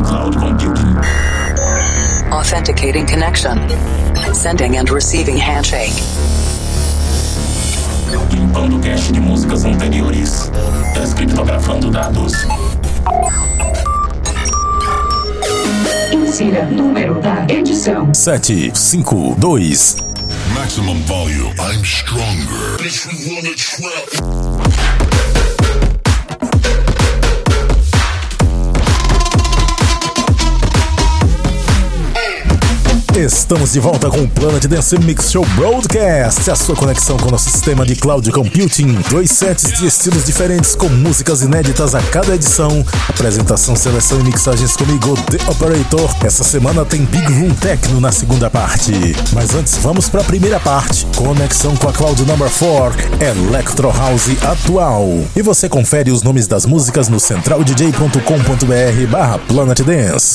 cloud computing. Authenticating connection. Sending and receiving handshake. Limpando cache de músicas anteriores. Descriptografando dados. Insira número da edição: 752. Maximum volume. I'm stronger. Bitch, we wanna trap. Estamos de volta com o Planet Dance Mix Show Broadcast, a sua conexão com o nosso sistema de cloud computing. 2 sets de estilos diferentes com músicas inéditas a cada edição. Apresentação, seleção e mixagens comigo, The Operator. Essa semana tem Big Room Techno na segunda parte. Mas antes, vamos para a primeira parte. Conexão com a Cloud Number 4, Electro House atual. E você confere os nomes das músicas no centraldj.com.br/Planet Dance.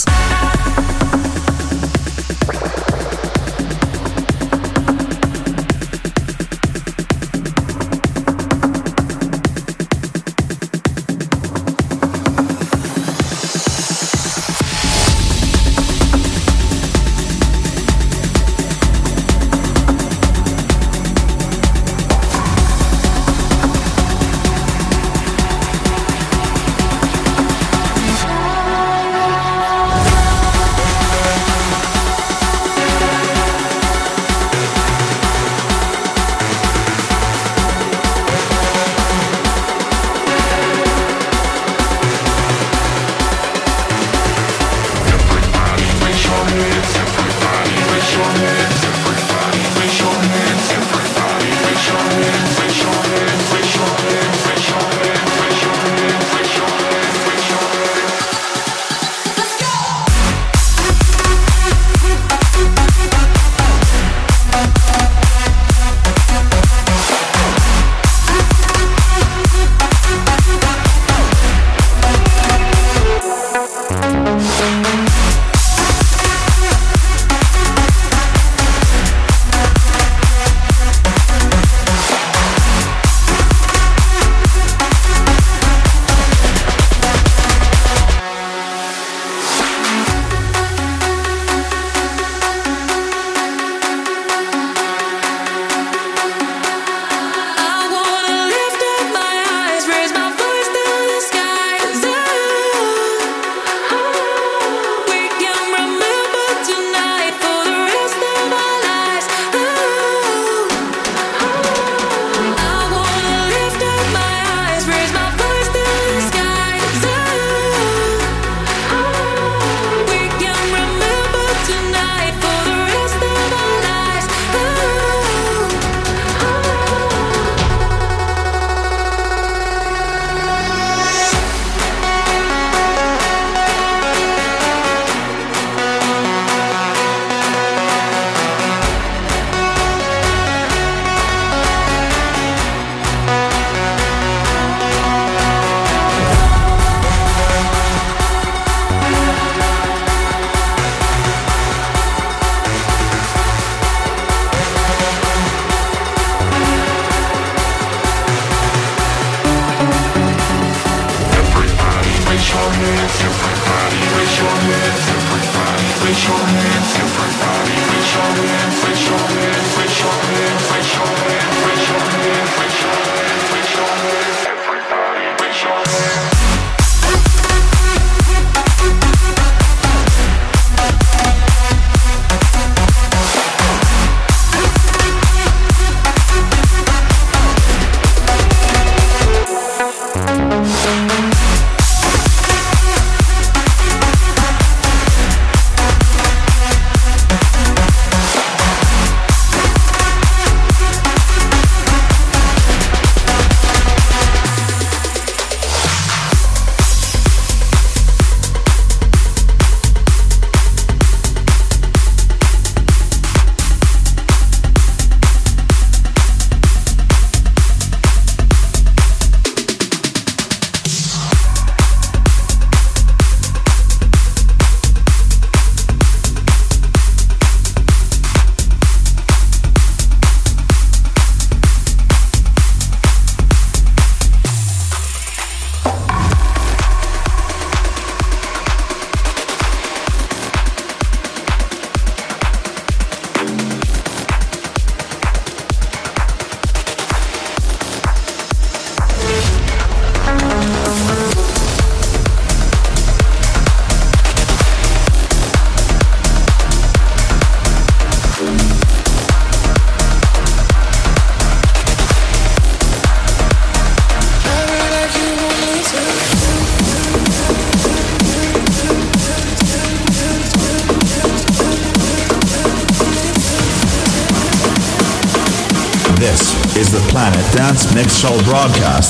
This is the Planet Dance Mix Show broadcast.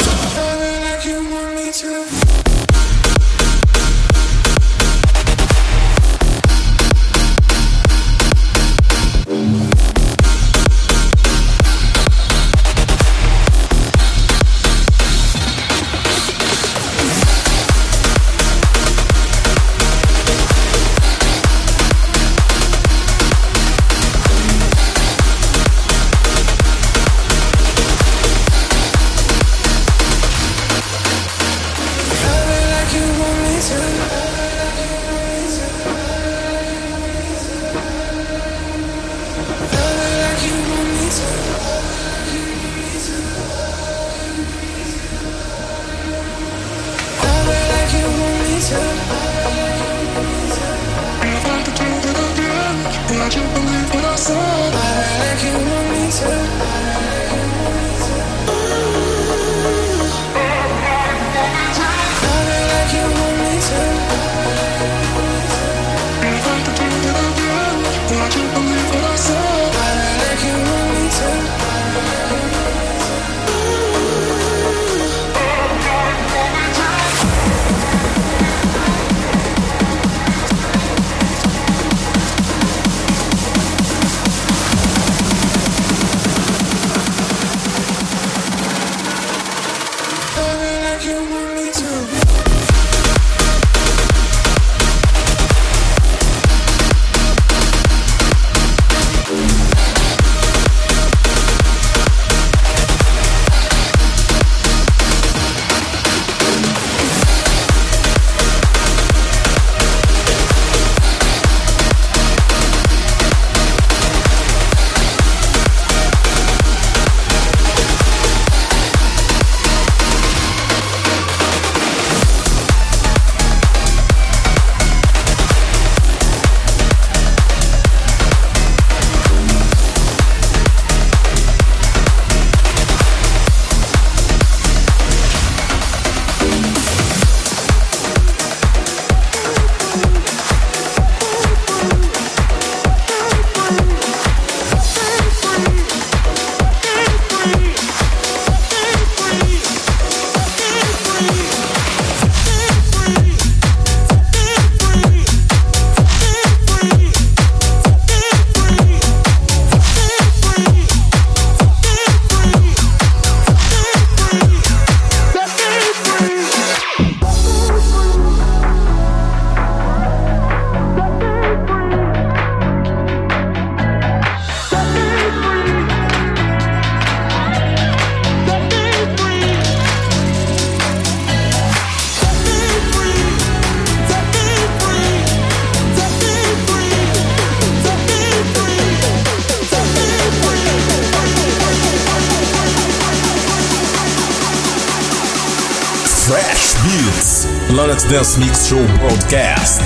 Fresh Beats, Planet Dance Mix Show broadcast.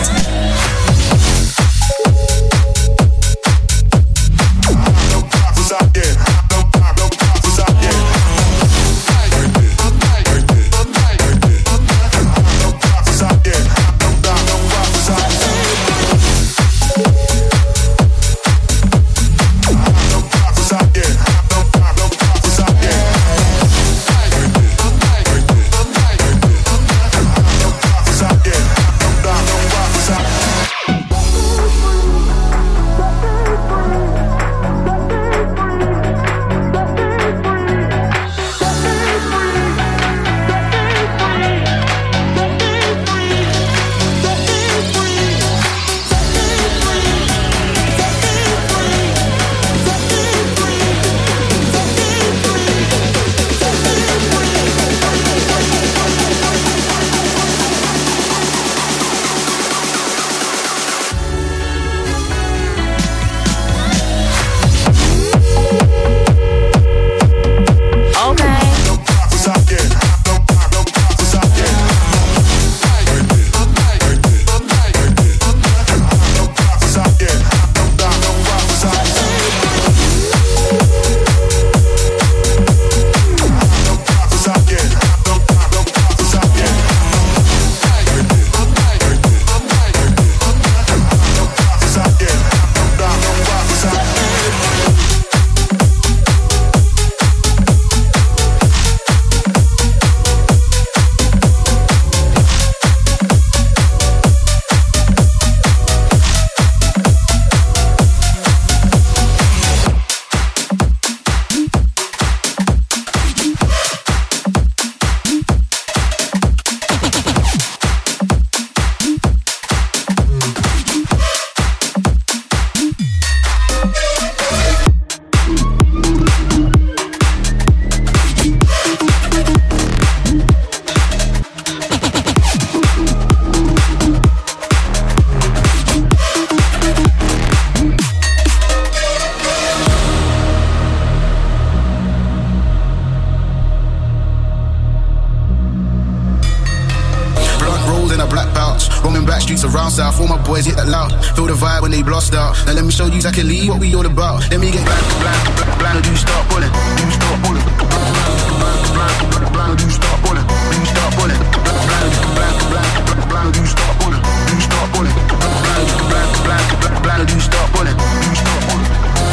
black belts. Roaming back streets around south, all my boys hit that loud. Feel the vibe when they blast out. Now let me show you exactly what we all about. Let me get blind, do you start pulling? Do you start pulling? Blind, do you start pulling? Do you start pulling? Blind, do you start pulling? Do you start pulling? Blind, do you start pulling? Do you start pulling?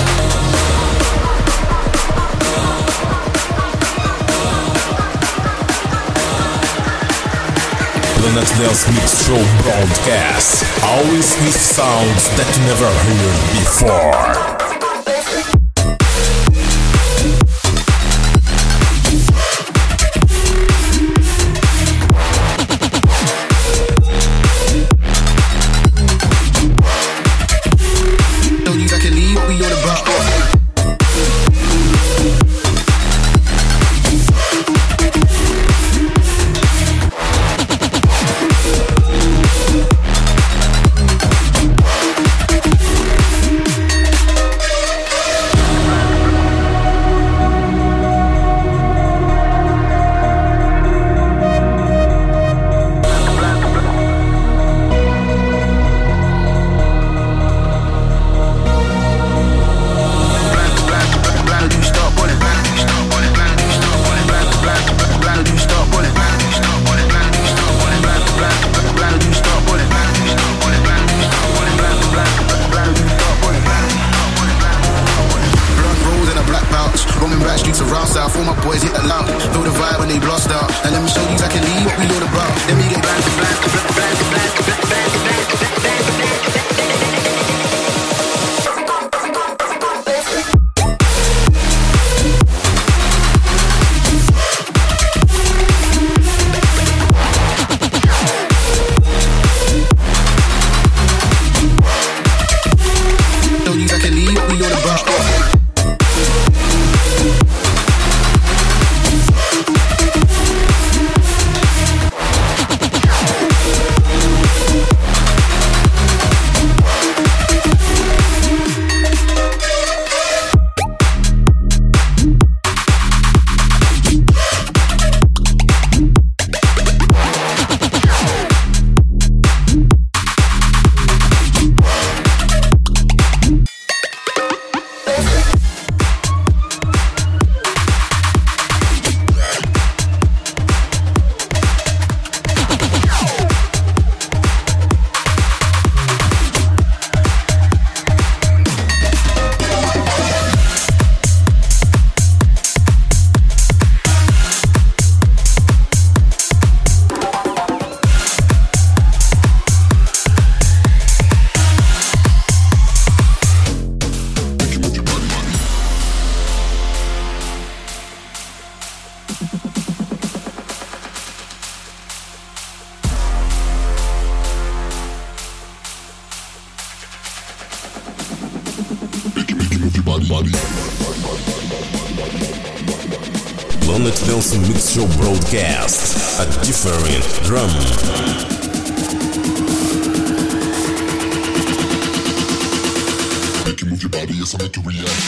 Planet Dance Mix Show broadcast, always with sounds that you never heard before. Planet Dance Mix Show broadcast, a different drum. Make you move your body, yes, I make you react.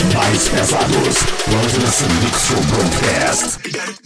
mais pesados. Planet Dance Mix Show Broadcast.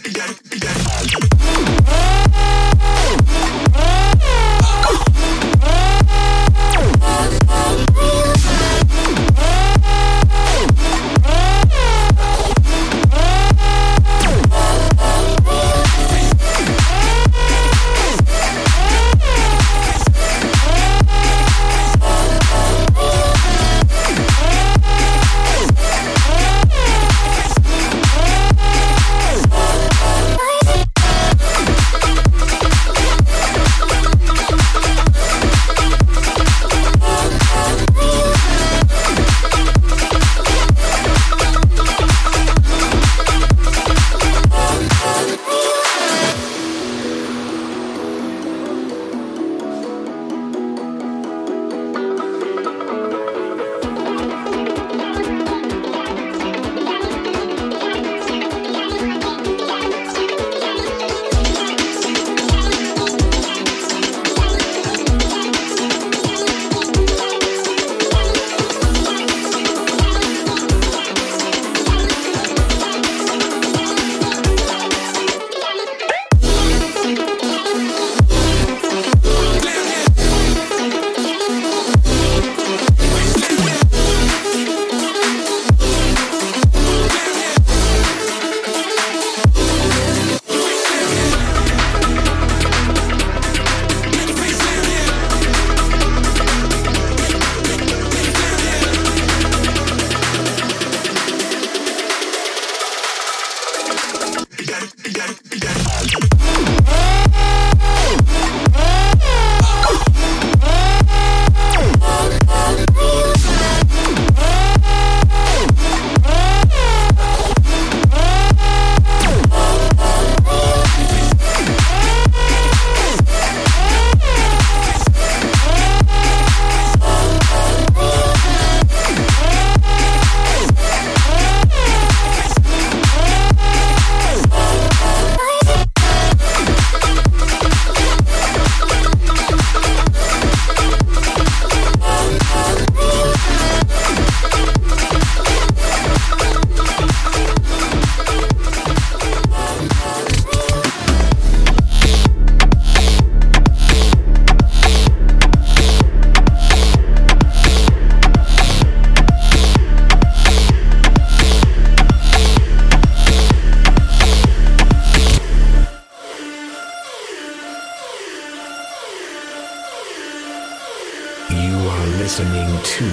listening to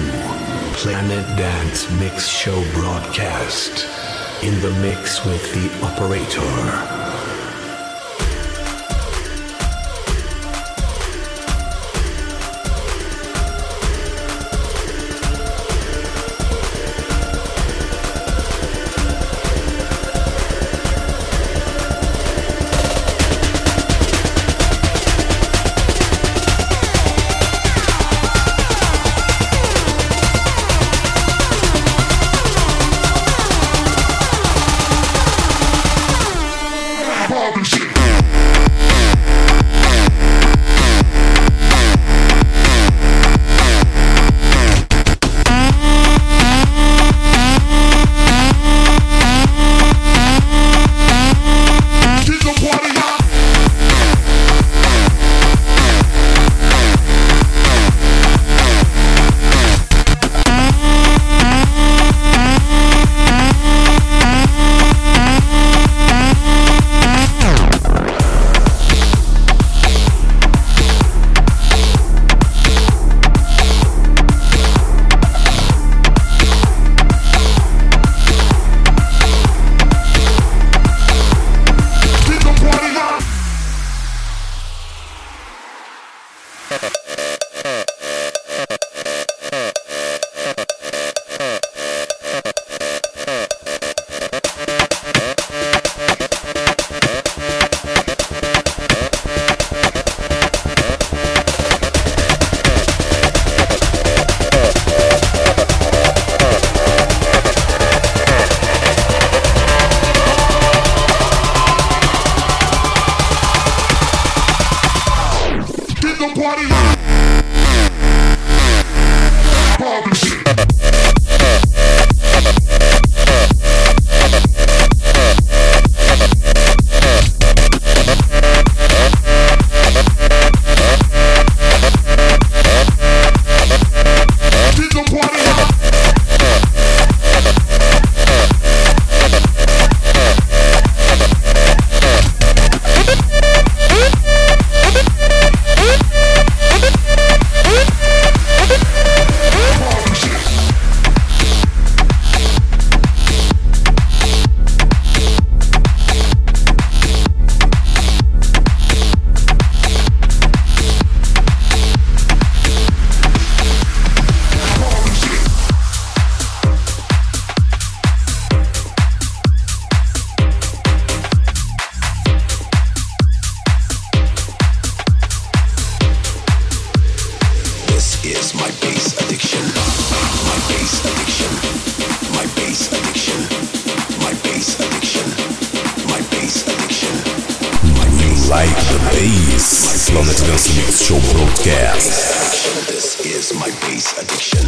Planet Dance Mix Show broadcast. In the mix with the operator. Planet Dance Mix Show Broadcast. This is my bass addiction.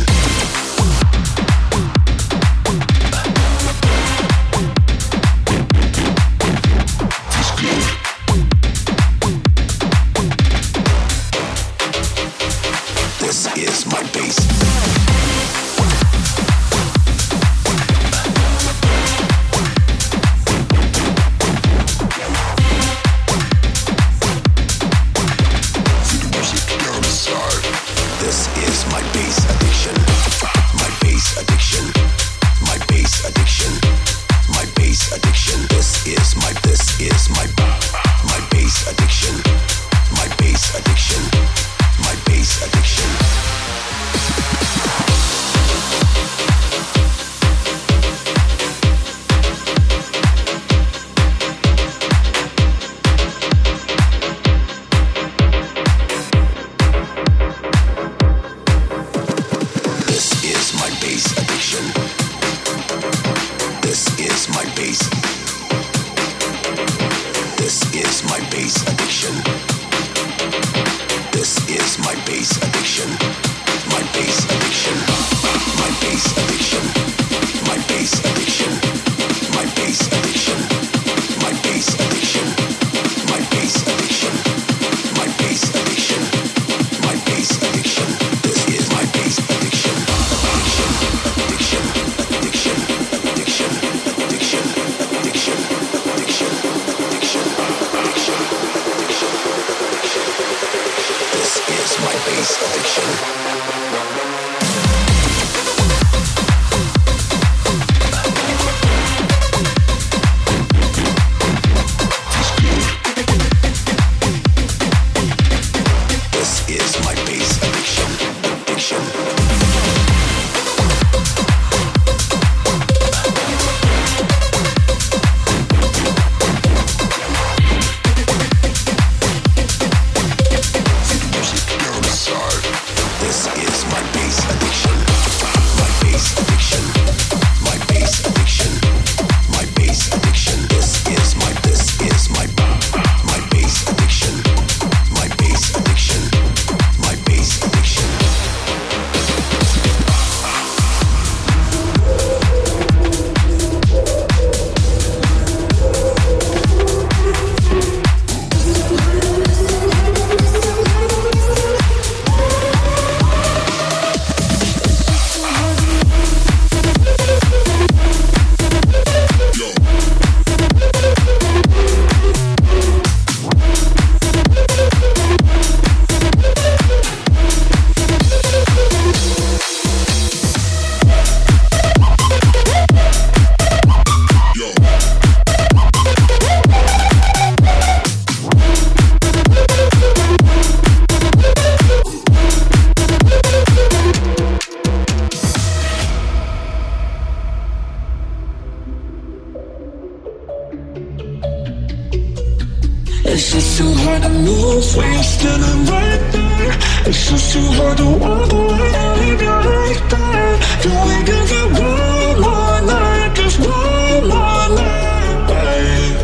It's just too hard to move when you're standing right there. It's just too hard to walk away and leave you right there. Can we give it one more night, just one more night, babe?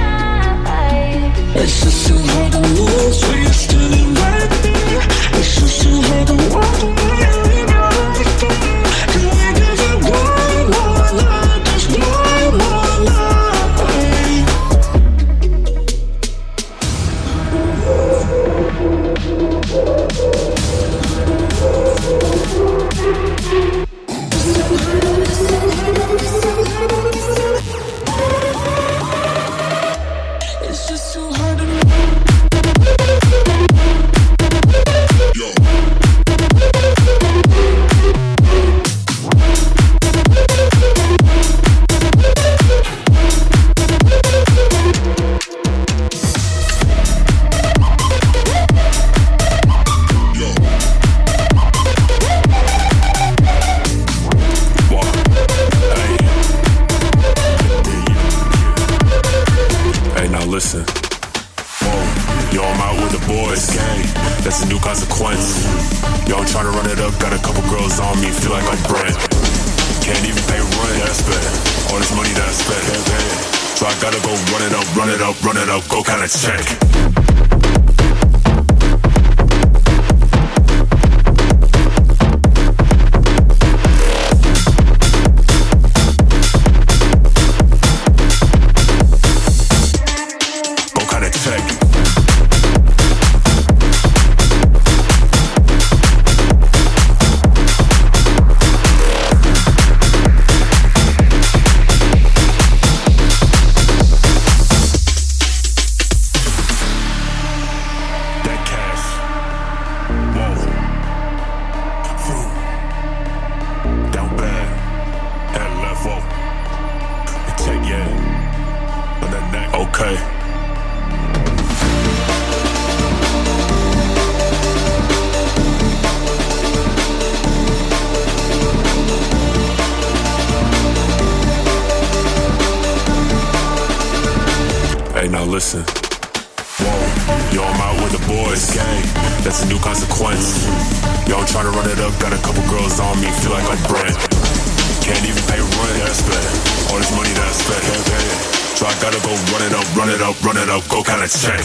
It's just too hard to move when you're standing right there. It's just too hard to walk away and leave you right there. Can we give it one more night, just one more night, babe? It's just too hard to listen. Whoa, yo, I'm out with the boys. Gang, that's a new consequence. Yo, I'm trying to run it up. Got a couple girls on me, feel like I'm Brent. Can't even pay rent, that's bad. All this money that I spent, can't pay it. So I gotta go run it up, run it up, run it up, go kinda check. Okay. Hey, now listen. Whoa, yo, I'm out with the boys. Gang, that's a new consequence. Yo, I'm trying to run it up. Got a couple girls on me. Feel like I'm Brent. Can't even pay rent. That's bad. All this money that's spent. Can't pay it. So I gotta go run it up, run it up, run it up. Go kinda check.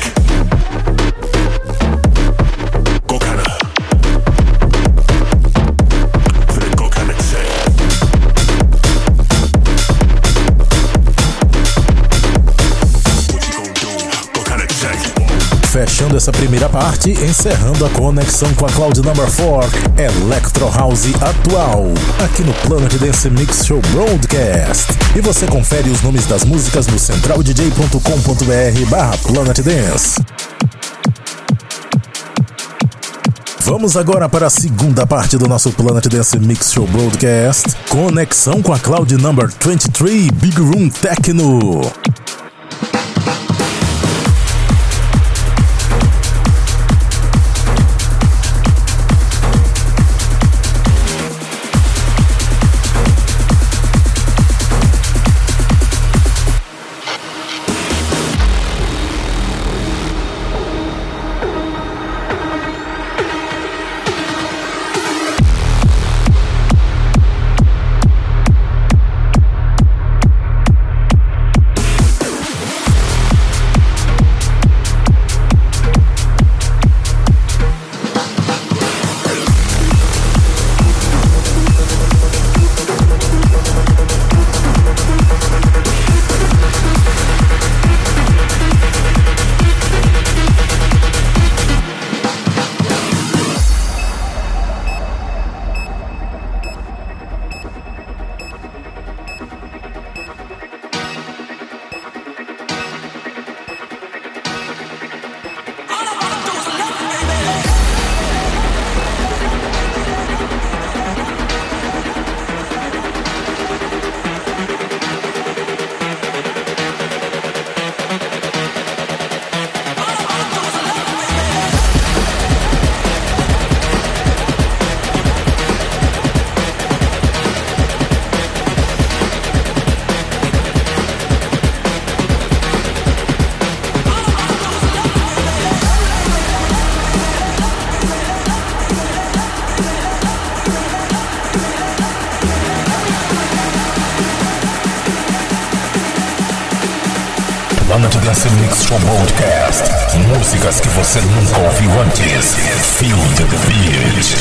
Go kinda. Finna go kinda check. What you gon' do? Go kinda check. Fechando essa primeira parte, encerrando a conexão com a Cloud Number 4, Electro House atual, aqui no Planet Dance Mix Show Broadcast. E você confere os nomes das músicas no centraldj.com.br/Planet Dance. Vamos agora para a segunda parte do nosso Planet Dance Mix Show Broadcast, conexão com a Cloud Number 23 Big Room Techno. Planet Dance Mix Show Broadcast. Músicas que você nunca ouviu antes. Feel the beat.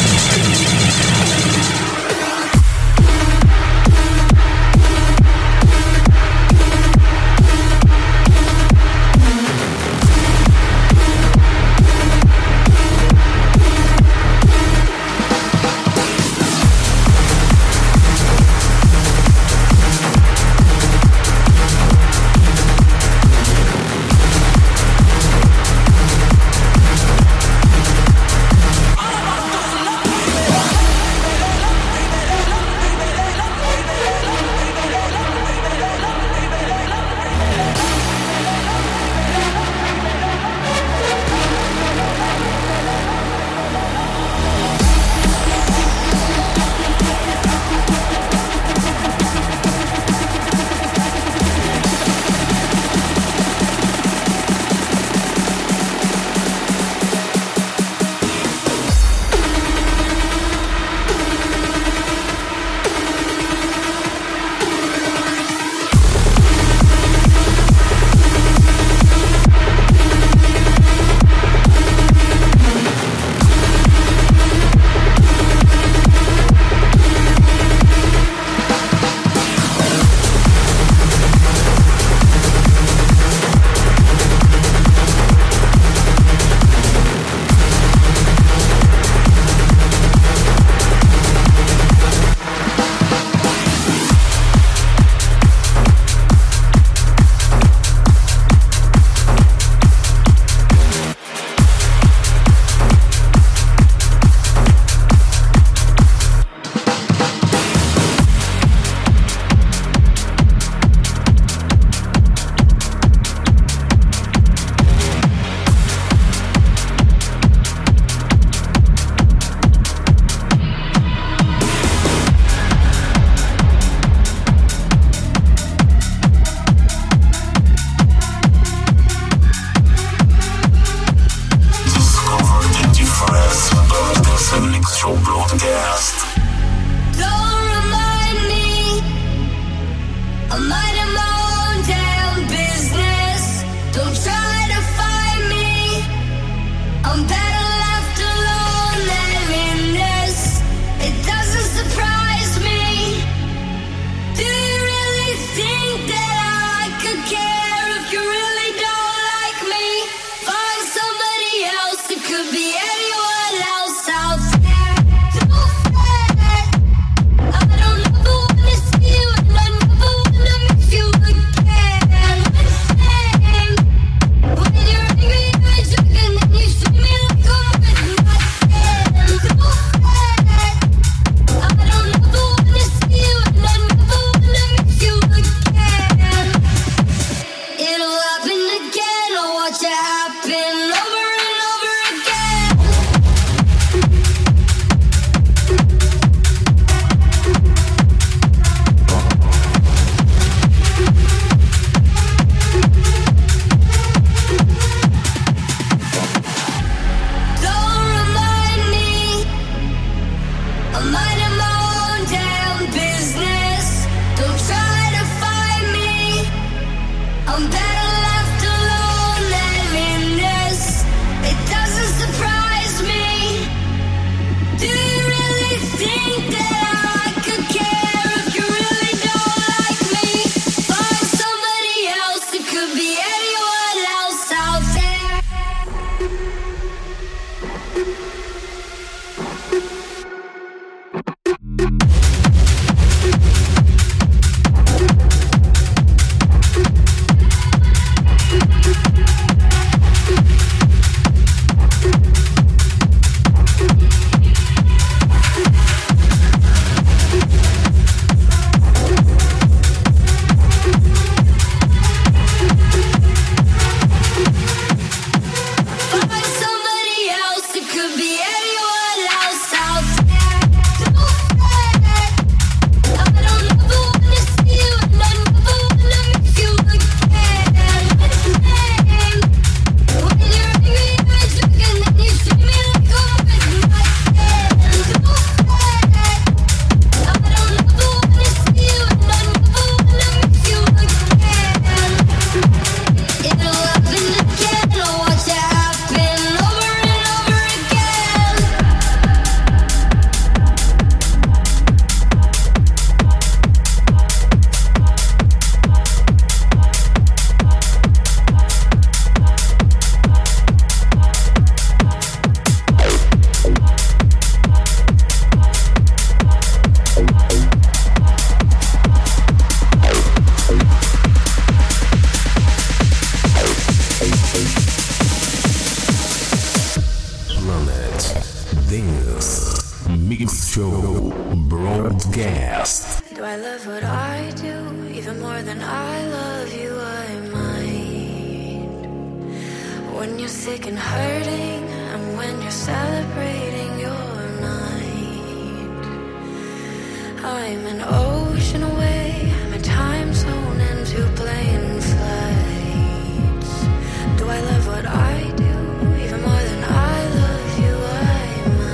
Do I love what I do even more than I love you? I might. When you're sick and hurting, and when you're celebrating your night. I'm an ocean away, I'm a time zone and two plane flights. Do I love what I do even more than I love you? I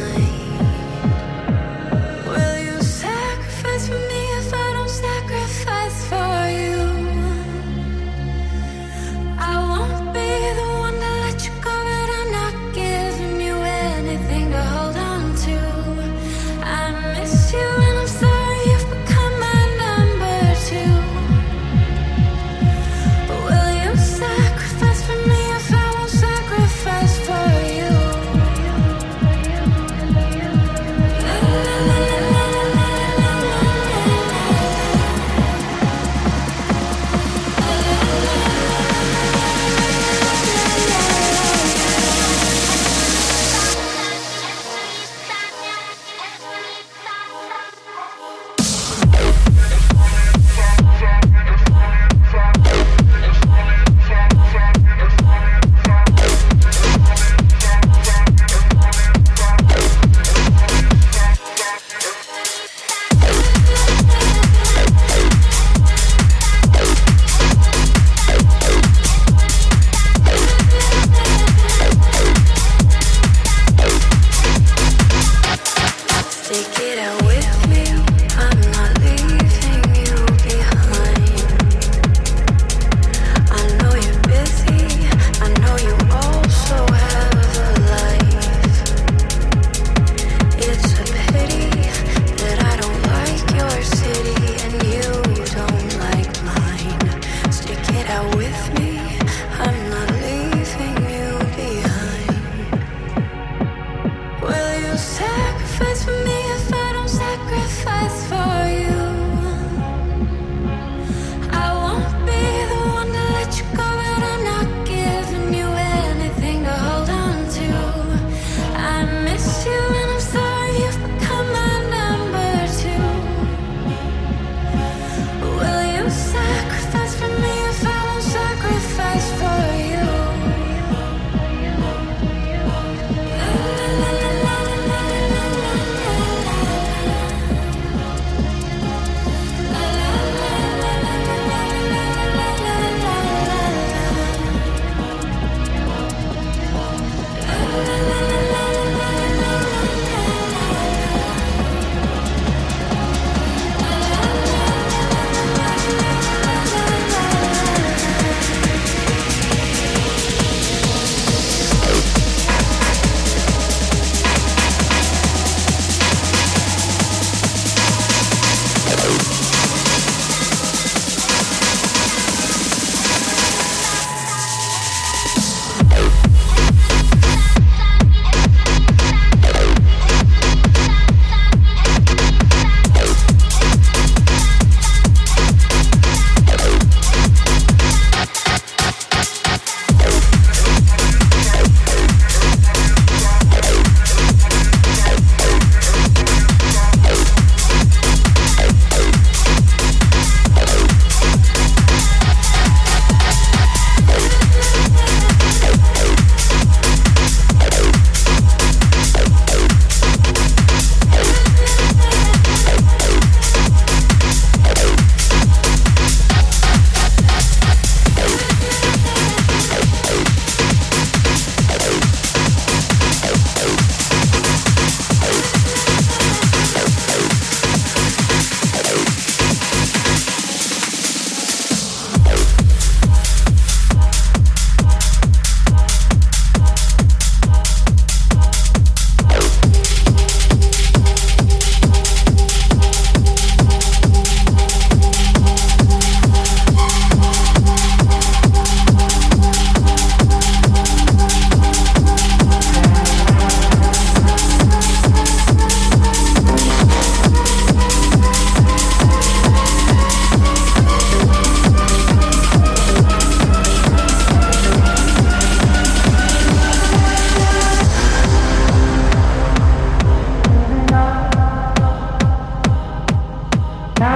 might. Will you sacrifice for me if I don't sacrifice for you? I won't be the one to let you go, but I'm not giving you anything to hold on to. I miss you and I'm sorry you've become my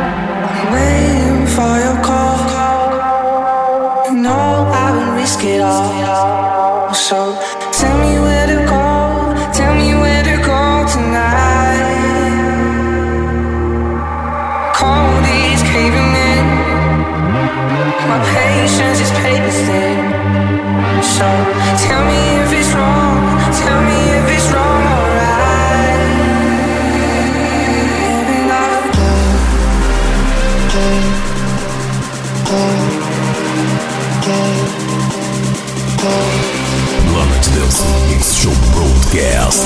Waiting for your call. You know I would risk it all. So tell me where to go. Tell me where to go tonight. Cold is caving in. My patience is paper thin. So tell me if it's wrong. Tell me if it's wrong, alright. Maybe not. Planet Dance Mix Show Broadcast.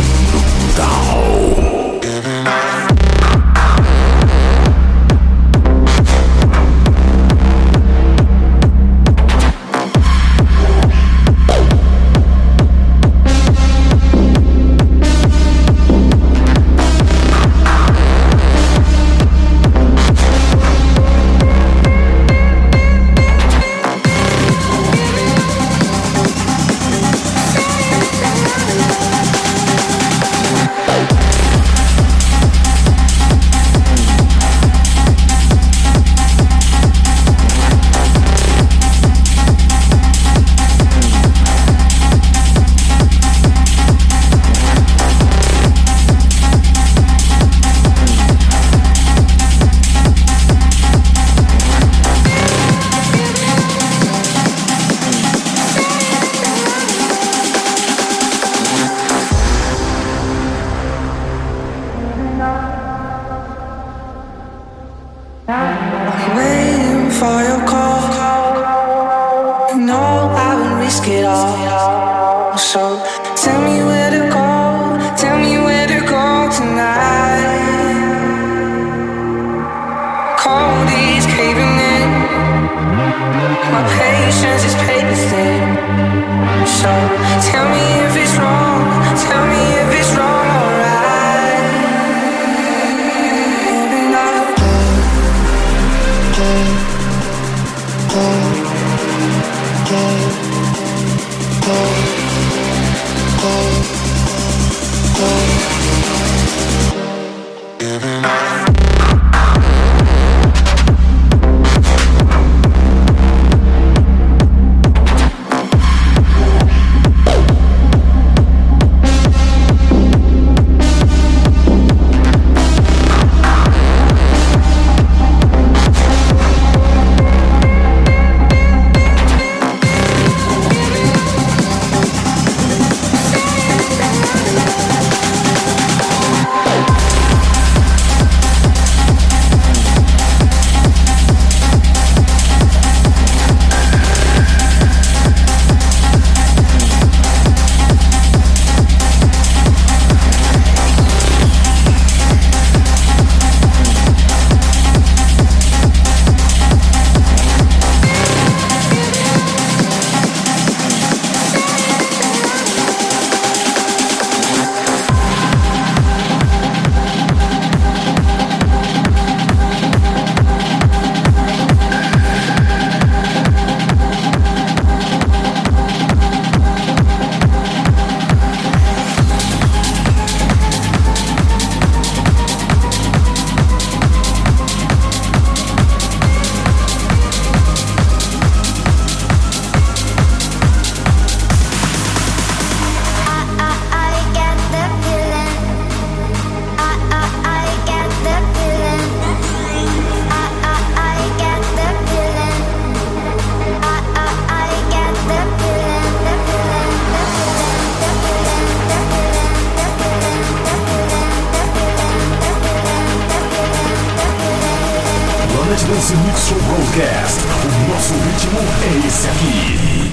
Waiting for your call. You know I would risk it all. So tell me where to go. Tell me where to go tonight. Cold is caving in. My patience is paper thin. So tell me if it's wrong. Tell me if it's wrong, alright. Maybe not. Dance Mix Show Broadcast. O nosso ritmo é esse aqui.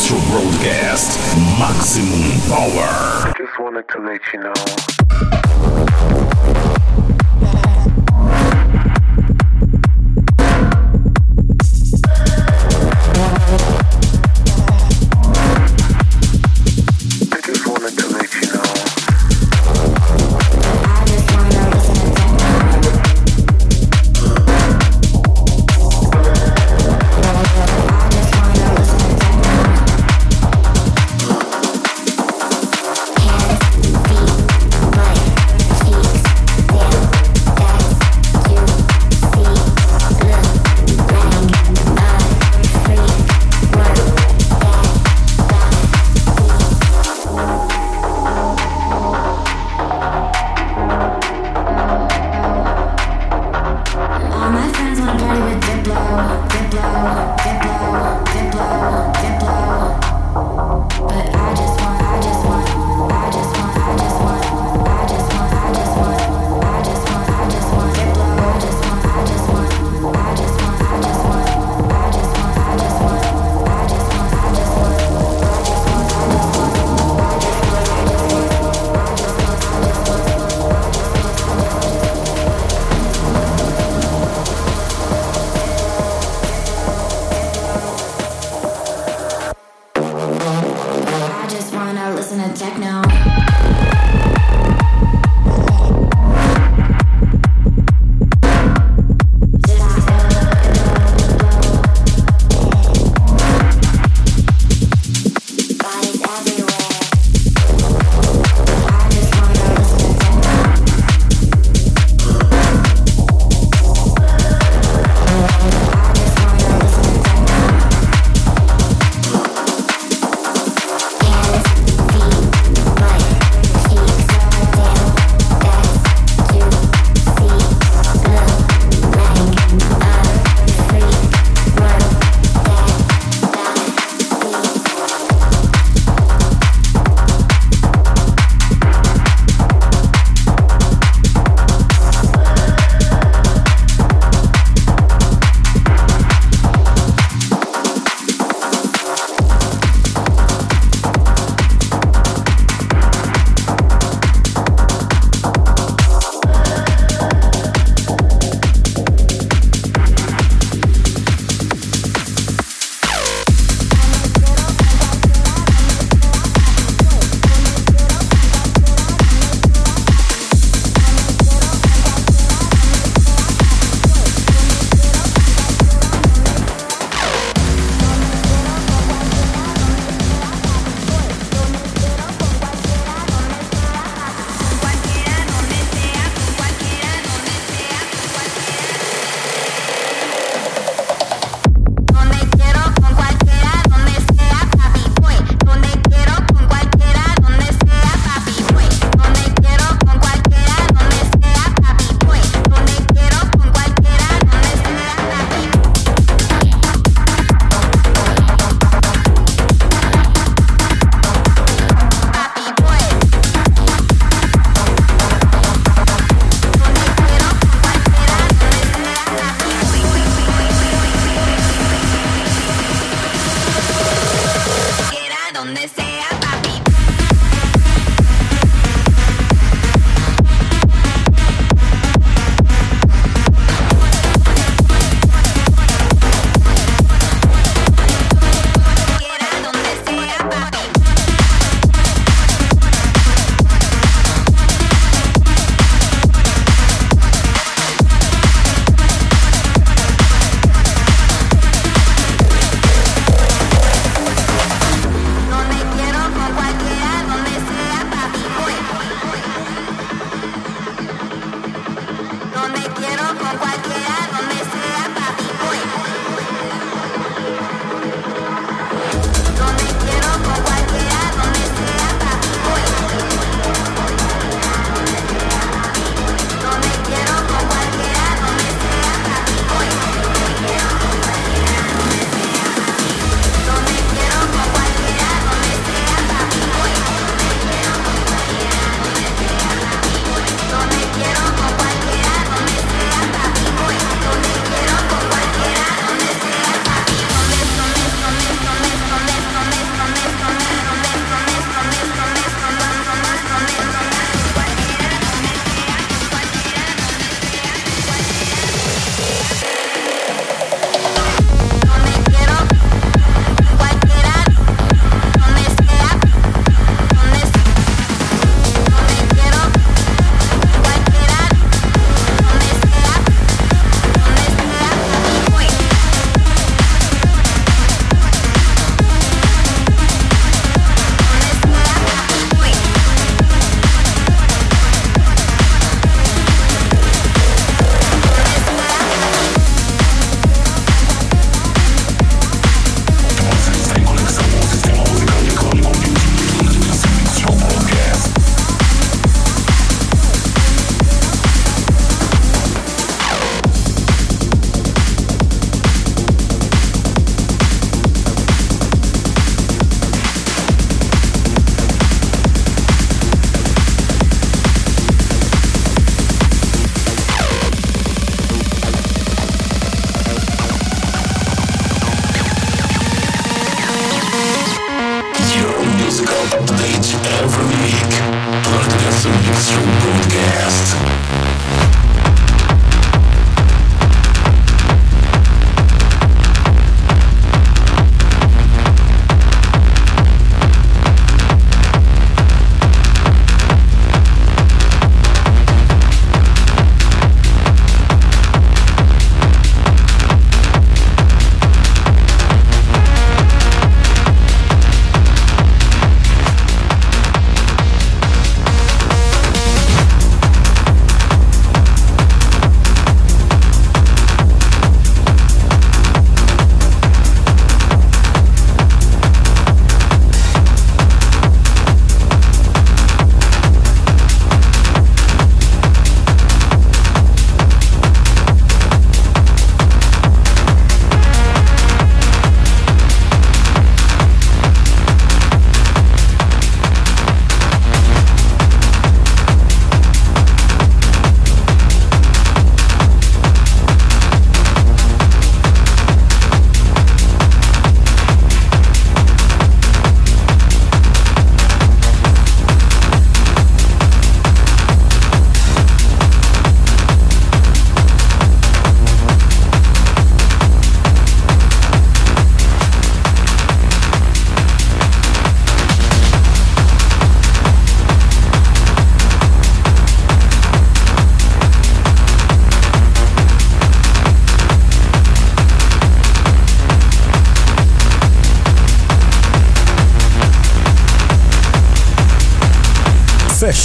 Show Broadcast Maximum Power. I just wanted to let you know. Hands, feet,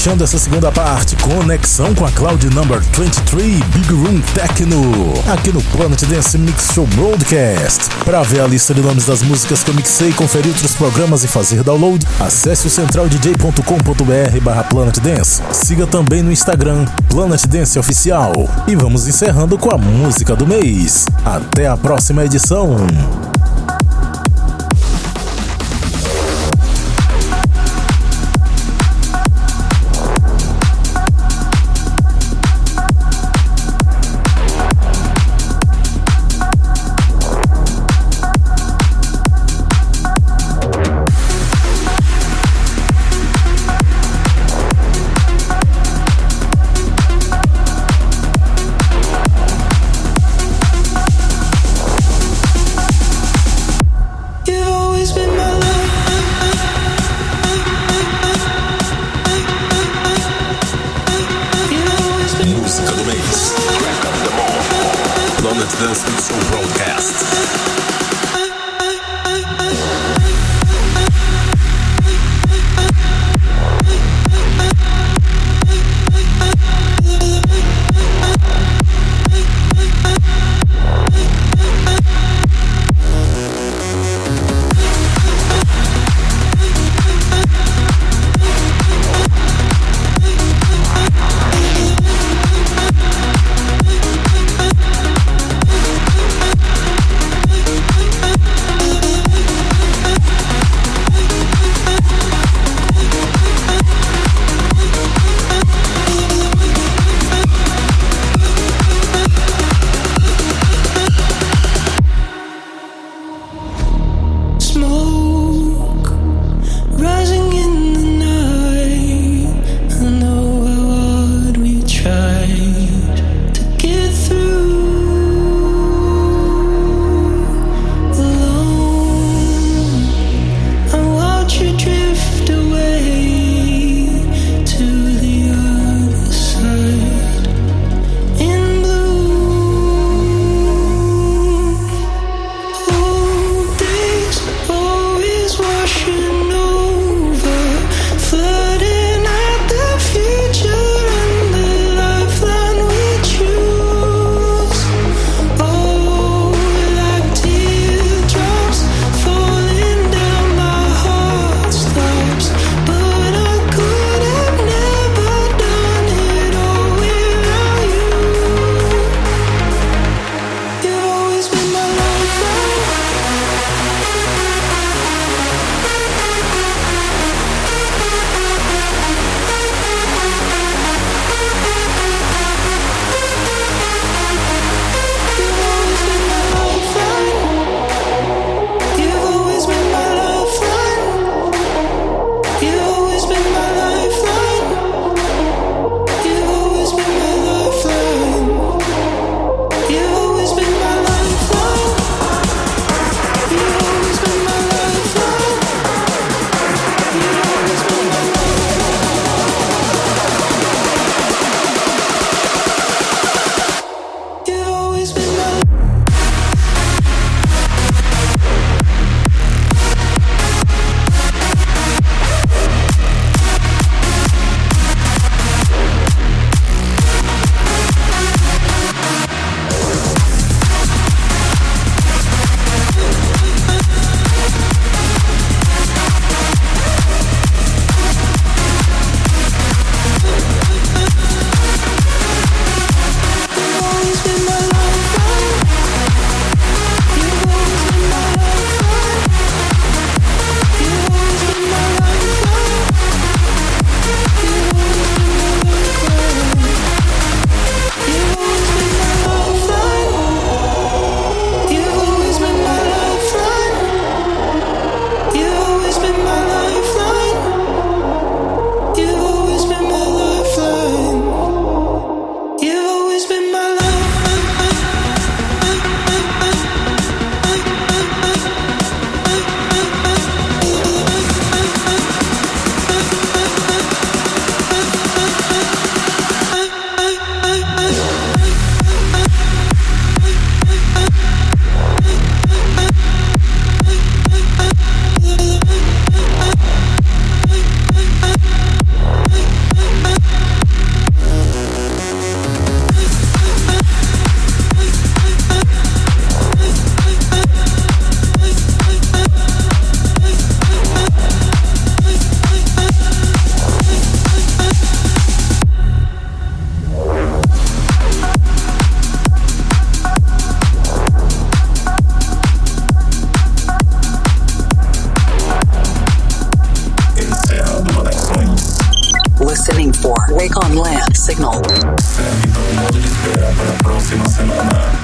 Fechando essa segunda parte, conexão com a Cloud Number 23 Big Room Techno, aqui no Planet Dance Mix Show Broadcast. Para ver a lista de nomes das músicas que eu mixei, conferir outros programas e fazer download, acesse o centraldj.com.br/Planet Dance. Siga também no Instagram, Planet Dance Oficial. E vamos encerrando com a música do mês. Até a próxima edição. Dance Mix Show Broadcast. signal. Serve todo modo de espera para a próxima semana.